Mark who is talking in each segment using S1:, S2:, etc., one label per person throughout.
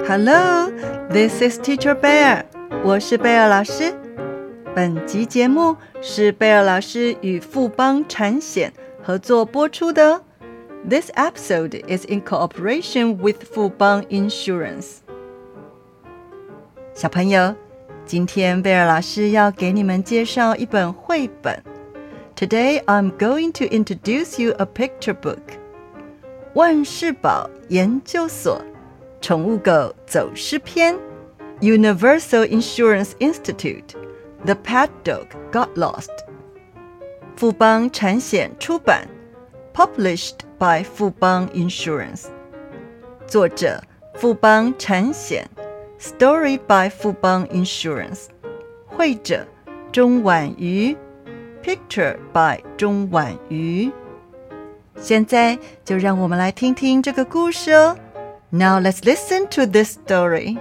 S1: Hello, this is Teacher Bear. 我是貝爾老師。本集節目是貝爾老師與富邦產險合作播出的。This episode is in cooperation with 富邦 Insurance. 小朋友，今天貝爾老師要給你們介紹一本繪本。Today I'm going to introduce you a picture book. 萬事寶研究所寵物狗走失篇 Universal Insurance Institute The Pet Dog Got Lost 富邦產險出版 Published by 富邦 Insurance 作者富邦產險 Story by 富邦 Insurance 繪者鍾婉瑜 Picture by 鍾婉瑜現在就讓我們來聽聽這個故事哦。Now let's listen to this story.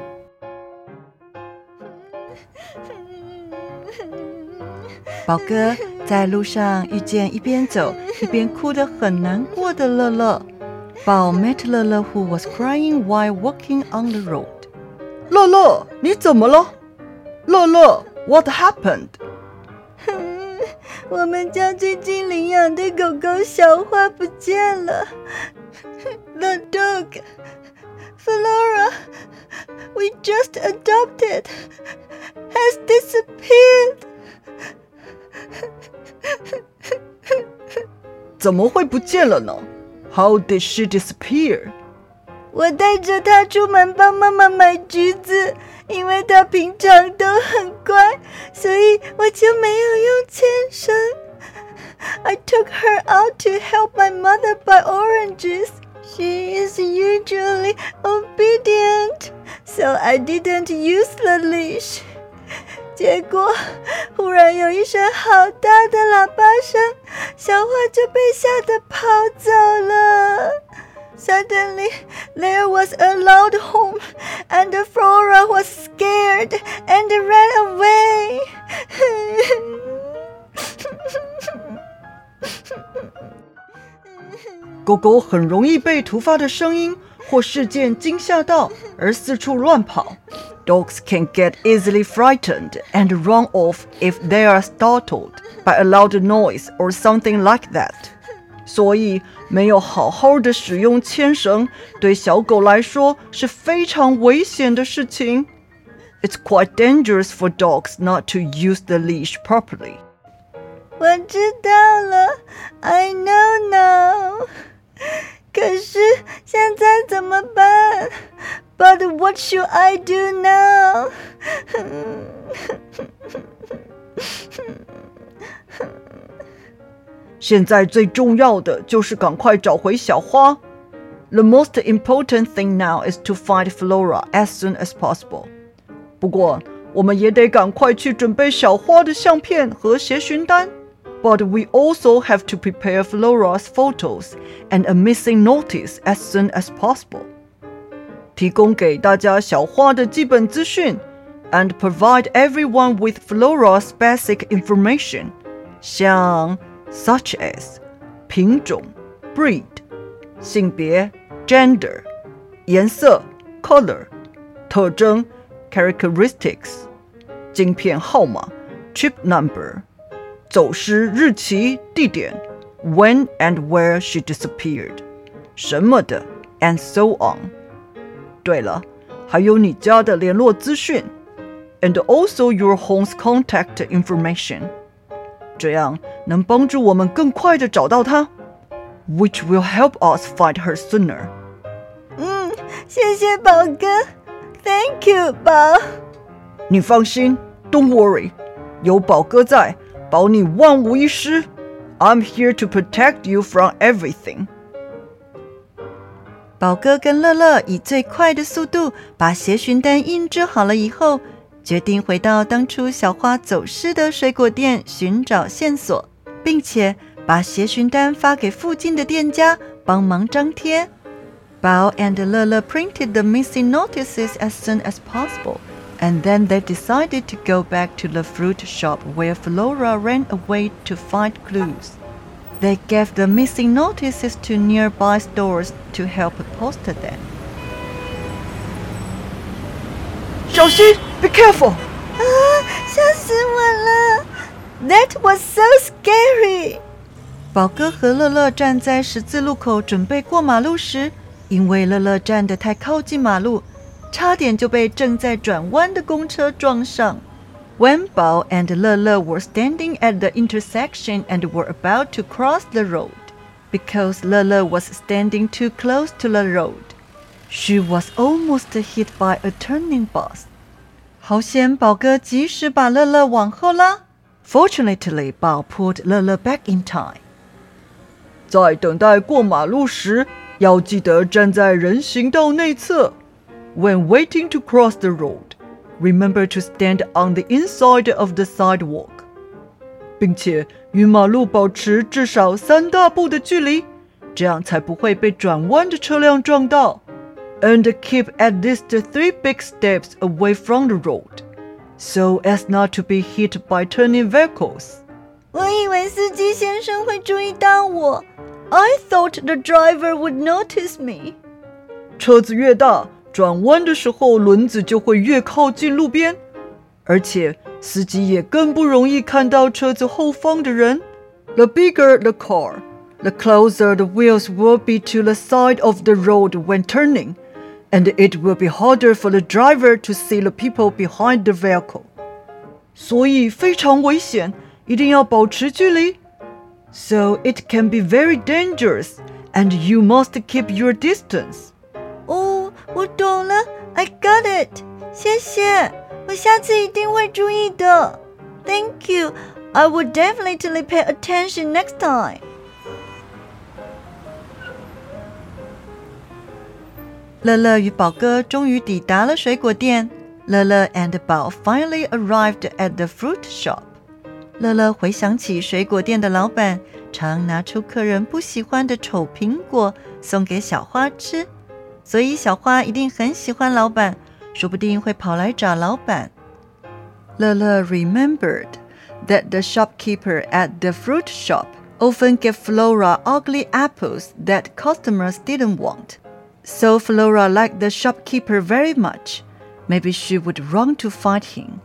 S1: 寶哥在路上遇見一邊走一邊哭得很難過的樂樂。寶 met 樂樂 who was crying while walking on the road. 樂樂，你怎麼了？樂樂 ，What happened?
S2: 我們家最近領養的狗狗小花不見了。The dog, Flora, we just adopted, has disappeared.
S1: 怎麼會不見了呢？ How did she disappear?
S2: 我帶着她出門幫媽媽買橘子，因為她平常都很乖，所以我就沒有用牽繩。I took her out to help my mother buy oranges. She is usually obedient, so I didn't use the leash. 結果忽然有一聲好大的喇叭聲，小花就被嚇得跑走了。Suddenly, there was a loud hum, and Flora was scared and ran away.
S1: 狗狗很容易被突發的聲音或事件驚嚇到，而四處亂跑。Dogs can get easily frightened and run off if they are startled by a loud noise or something like that. 所以沒有好好的使用牽繩，對小狗來說是非常危險的事情。It's quite dangerous for dogs not to use the leash properly.
S2: 我知道了 I know now. 可是現在怎麼辦 But what should I do now?
S1: 現在最重要的就是趕快找回小花。The most important thing now is to find Flora as soon as possible. 不過，我們也得趕快去準備小花的相片和協尋單。But we also have to prepare Flora's photos and a missing notice as soon as possible. 提供給大家小花的基本資訊 and provide everyone with Flora's basic information, 像 such as 品種 breed, 性別 gender, 顏色 color, 特徵 characteristics, 晶片號碼 chip number, 走失日期地點 when and where she disappeared, 什麼的 and so on. 對了，還有你家的聯絡資訊 and also your home's contact information. 這樣能幫助我們更快地找到她 which will help us find her sooner.
S2: 謝謝寶哥 Thank you, 寶。
S1: 你放心 Don't worry. 有寶哥在保你萬無一失 I'm here to protect you from everything. 寶哥跟樂樂以最快的速度把協尋單印製好了以後，決定回到當初小花走失的水果店尋找線索，並且把協尋單發給附近的店家幫忙張貼。寶 and 樂樂 printed the missing notices as soon as possible.And then they decided to go back to the fruit shop where Flora ran away to find clues. They gave the missing notices to nearby stores to help post them. 小心 ，Be careful！
S2: 嚇死我了 ！That was so scary。
S1: 寶哥和樂樂站在十字路口準備過馬路時，因為樂樂站得太靠近馬路，差點就被正在轉彎的公車撞上。When Bao and Lele were standing at the intersection and were about to cross the road, because Lele was standing too close to the road, she was almost hit by a turning bus. 好險，寶哥及時把樂樂往後拉。Fortunately, Bao pulled Lele back in time. 在等待過馬路時，要記得站在人行道內側。When waiting to cross the road,Remember to stand on the inside of the sidewalk. 并且與馬路保持至少3大步的距離，這樣才不會被轉彎的車輛撞到。And keep at least 3 big steps away from the road, so as not to be hit by turning vehicles.
S2: 我以為司機先生會注意到我。I thought the driver would notice me.
S1: 車子越大，轉彎的時候輪子就會越靠近路邊，而且司機也更不容易看到車子後方的人。The bigger the car, the closer the wheels will be to the side of the road when turning, and it will be harder for the driver to see the people behind the vehicle. 所以非常危險，一定要保持距離。So it can be very dangerous, and you must keep your distance.
S2: 哦，我懂了 I got it 謝謝，我下次一定會注意的 Thank you I will definitely pay attention next time
S1: 樂樂與寶哥終於抵達了水果店。樂樂 and 寶 finally arrived at the fruit shop。樂樂回想起水果店的老闆常拿出客人不喜歡的醜蘋果送給小花吃，所以小花一定很喜歡老闆，說不定會跑來找老闆。樂樂 remembered that the shopkeeper at the fruit shop often gave Flora ugly apples that customers didn't want. So Flora liked the shopkeeper very much. Maybe she would run to fight him.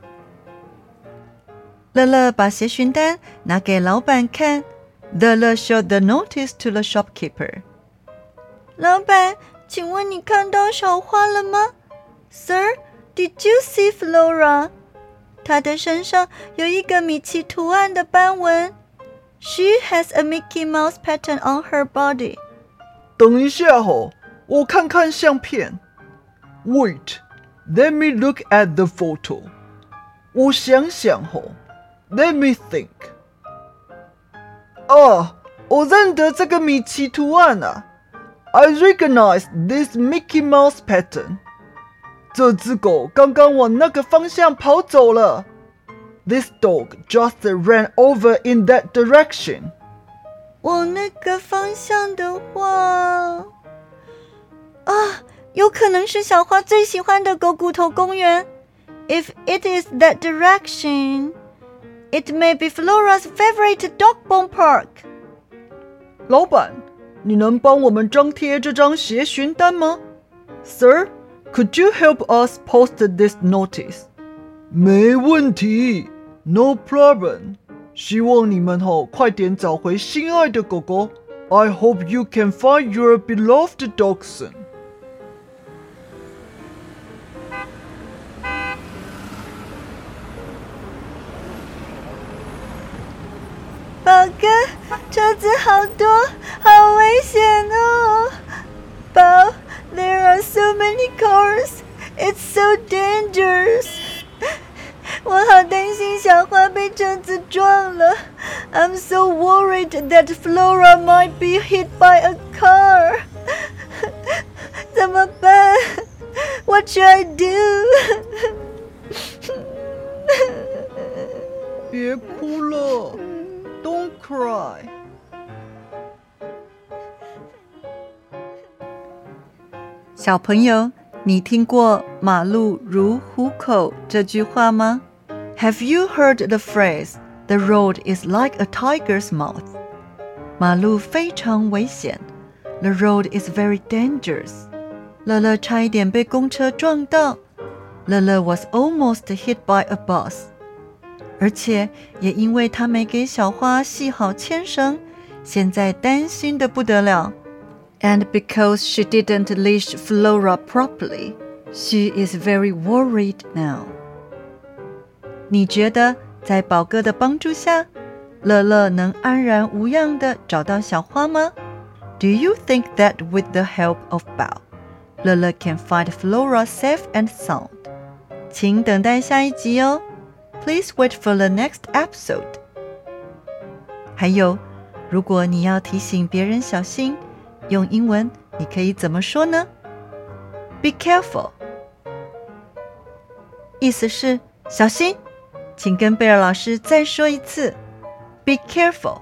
S1: 樂樂把協尋單拿給老闆看。樂樂 showed the notice to the shopkeeper.
S2: 老闆，請問你看到小花了嗎 ？Sir, did you see Flora? 她的身上有一個米奇圖案的斑紋。She has a Mickey Mouse pattern on her body.
S1: 等一下吼，我看看相片。Wait, let me look at the photo. 我想想吼。Let me think. 我認得這個米奇圖案啊。I recognize this Mickey Mouse pattern. 這隻狗剛剛往那個方向跑走了。This dog just ran over in that direction.
S2: 往那個方向的話，有可能是小花最喜歡的狗骨頭公園。If it is that direction, it may be Flora's favorite dog bone park.
S1: 老闆，你能幫我們張貼這張協尋單嗎 ？Sir, could you help us post this notice? 沒問題 ，No problem. 希望你們快點找回心愛的狗狗。I hope you can find your beloved dog soon.
S2: 寶哥，車子好多，好危險哦！寶 ，There are so many cars. It's so dangerous. 我好擔心小花被車子撞了。I'm so worried that Flora might be hit by a car. 怎麼辦 ？What should I do?
S1: 別哭了。Don't cry. 小朋友，你聽過馬路如虎口這句話嗎？ Have you heard the phrase, the road is like a tiger's mouth? 馬路非常危險 The road is very dangerous. 樂樂差一點被公車撞到。 樂樂 was almost hit by a bus， 而且也因為他沒給小花繫好牽繩，現在擔心得不得了。And because she didn't leash Flora properly, she is very worried now. 你覺得在寶哥的幫助下，樂樂能安然無恙地找到小花嗎？ Do you think that with the help of Bao, 樂樂 can find Flora safe and sound? 請等待下一集哦。Please wait for the next episode. 還有，如果你要提醒別人小心，用英文你可以怎麼說呢？ Be careful. 意思是小心，請跟貝爾老師再說一次。Be careful.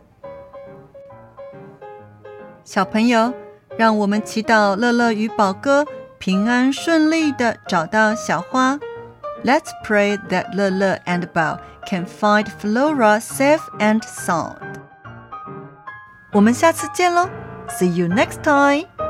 S1: 小朋友，讓我們祈禱樂樂與寶哥平安順利地找到小花。Let's pray that Lele and Bao can find Flora safe and sound. 我們下次見嘍 ！See you next time!